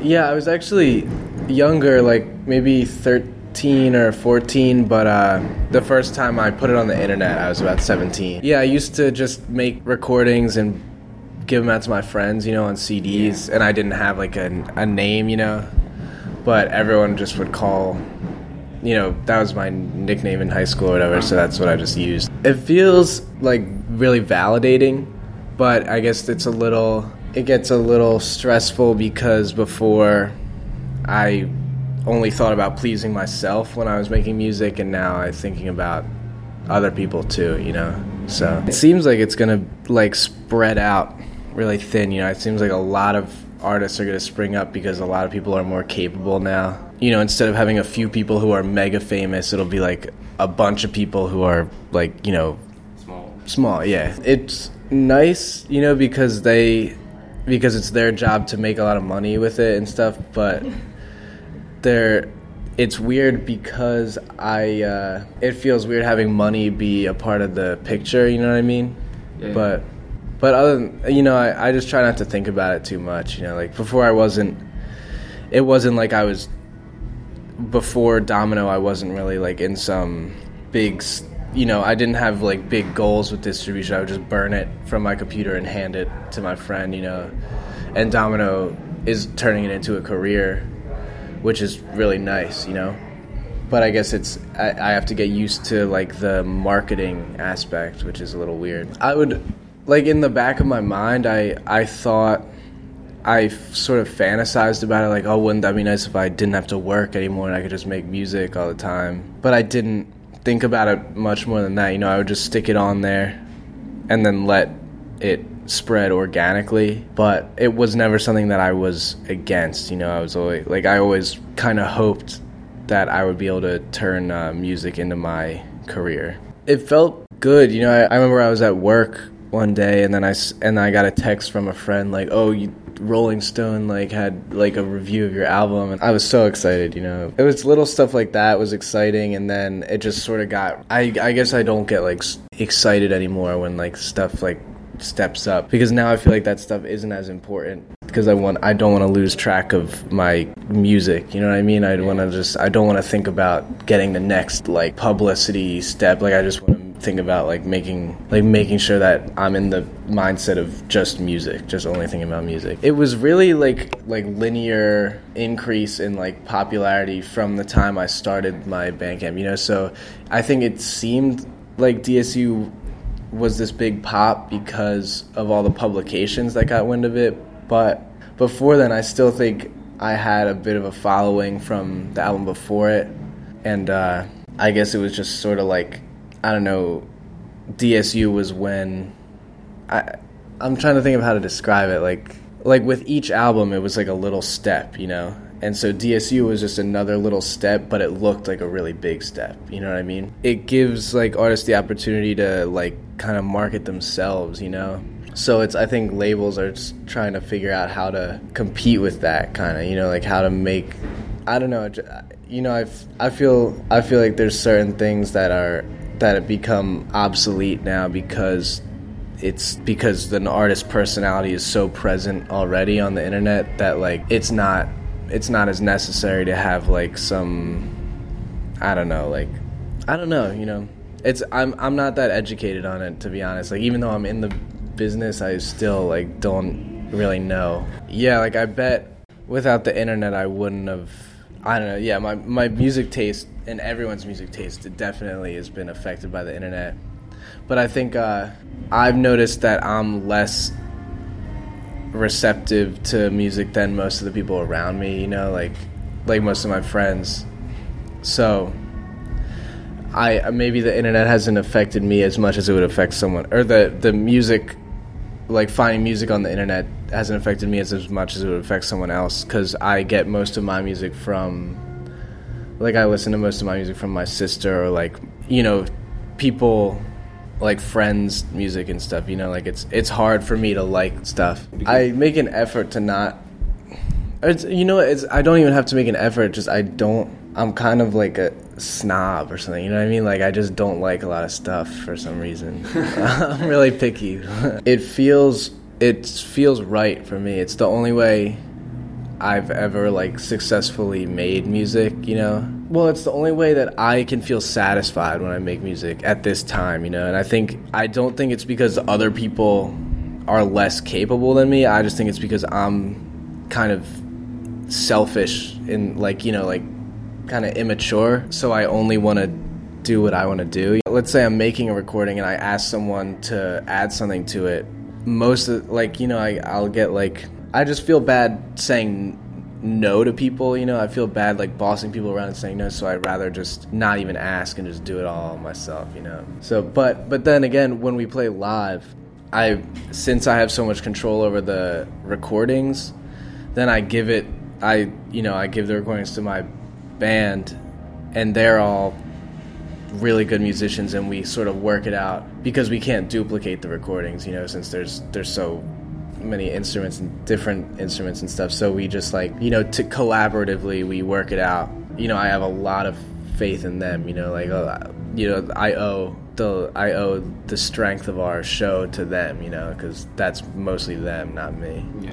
Yeah, I was actually younger, like maybe 13 or 14, but the first time I put it on the internet, I was about 17. Yeah, I used to just make recordings and give them out to my friends, on CDs, and I didn't have like a name, but everyone just would call, that was my nickname in high school or whatever, so that's what I just used. It feels like really validating, but I guess it gets a little stressful because before I only thought about pleasing myself when I was making music, and now I'm thinking about other people too, so it seems like it's gonna like spread out really thin, it seems like a lot of artists are gonna spring up because a lot of people are more capable now. Instead of having a few people who are mega famous, it'll be like a bunch of people who are like, small, yeah. It's nice, because it's their job to make a lot of money with it and stuff, but it's weird because it feels weird having money be a part of the picture, you know what I mean? Yeah. But other than, I just try not to think about it too much, like before it wasn't like before Domino, I wasn't really like in some big, I didn't have like big goals with distribution. I would just burn it from my computer and hand it to my friend, and Domino is turning it into a career, which is really nice, but I guess I have to get used to like the marketing aspect, which is a little weird. I would, like in the back of my mind, I thought, I sort of fantasized about it, like, oh, wouldn't that be nice if I didn't have to work anymore and I could just make music all the time? But I didn't think about it much more than that. I would just stick it on there and then let it spread organically. But it was never something that I was against. I was always like, I always kind of hoped that I would be able to turn music into my career. It felt good. I remember I was at work one day and then I got a text from a friend like, oh, Rolling Stone like had like a review of your album, and I was so excited. It was little stuff like that was exciting, and then it just sort of got, I guess I don't get like excited anymore when like stuff like steps up, because now I feel like that stuff isn't as important, because I don't want to lose track of my music, you know what I mean? I don't want to think about getting the next like publicity step. Like I just want to think about like making sure that I'm in the mindset of just music, just only thinking about music. It was really like linear increase in like popularity from the time I started my Bandcamp, so I think it seemed like DSU was this big pop because of all the publications that got wind of it, but before then I still think I had a bit of a following from the album before it, and I guess it was just sort of like, I don't know, DSU was when I'm trying to think of how to describe it, like with each album it was like a little step, and so DSU was just another little step, but it looked like a really big step, you know what I mean? It gives like artists the opportunity to like kind of market themselves, so I think labels are just trying to figure out how to compete with that kind of, like how to make, I don't know, I feel like there's certain things that have become obsolete now because the artist's personality is so present already on the internet that like it's not as necessary to have like some, I'm not that educated on it, to be honest. Like even though I'm in the business, I still like don't really know. Yeah, like I bet without the internet I wouldn't have, I don't know, yeah, my music taste and everyone's music taste, it definitely has been affected by the internet. But I think I've noticed that I'm less receptive to music than most of the people around me, like most of my friends. So maybe the internet hasn't affected me as much as it would affect someone, or the music, like finding music on the internet hasn't affected me as much as it would affect someone else, because I get most of my music from, like I listen to most of my music from my sister, or like, people, like friends' music and stuff, like it's hard for me to like stuff. I make an effort to not, I don't even have to make an effort, just I'm kind of like a snob or something, you know what I mean? Like I just don't like a lot of stuff for some reason. I'm really picky. It feels right for me. It's the only way I've ever like successfully made music, you know. Well, it's the only way that I can feel satisfied when I make music at this time, you know. And I don't think it's because other people are less capable than me. I just think it's because I'm kind of selfish and like, you know, like kind of immature, so I only want to do what I want to do. Let's say I'm making a recording and I ask someone to add something to it. Most of, like, you know, I'll get like, I just feel bad saying no to people, you know. I feel bad like bossing people around and saying no, so I'd rather just not even ask and just do it all myself, you know. So but then again, when we play live, since I have so much control over the recordings, then I give the recordings to my band, and they're all really good musicians, and we sort of work it out because we can't duplicate the recordings, you know, since there's so many instruments and different instruments and stuff. So we just like, you know, to collaboratively we work it out. You know, I have a lot of faith in them, you know, like, you know, I owe the strength of our show to them, you know, because that's mostly them, not me.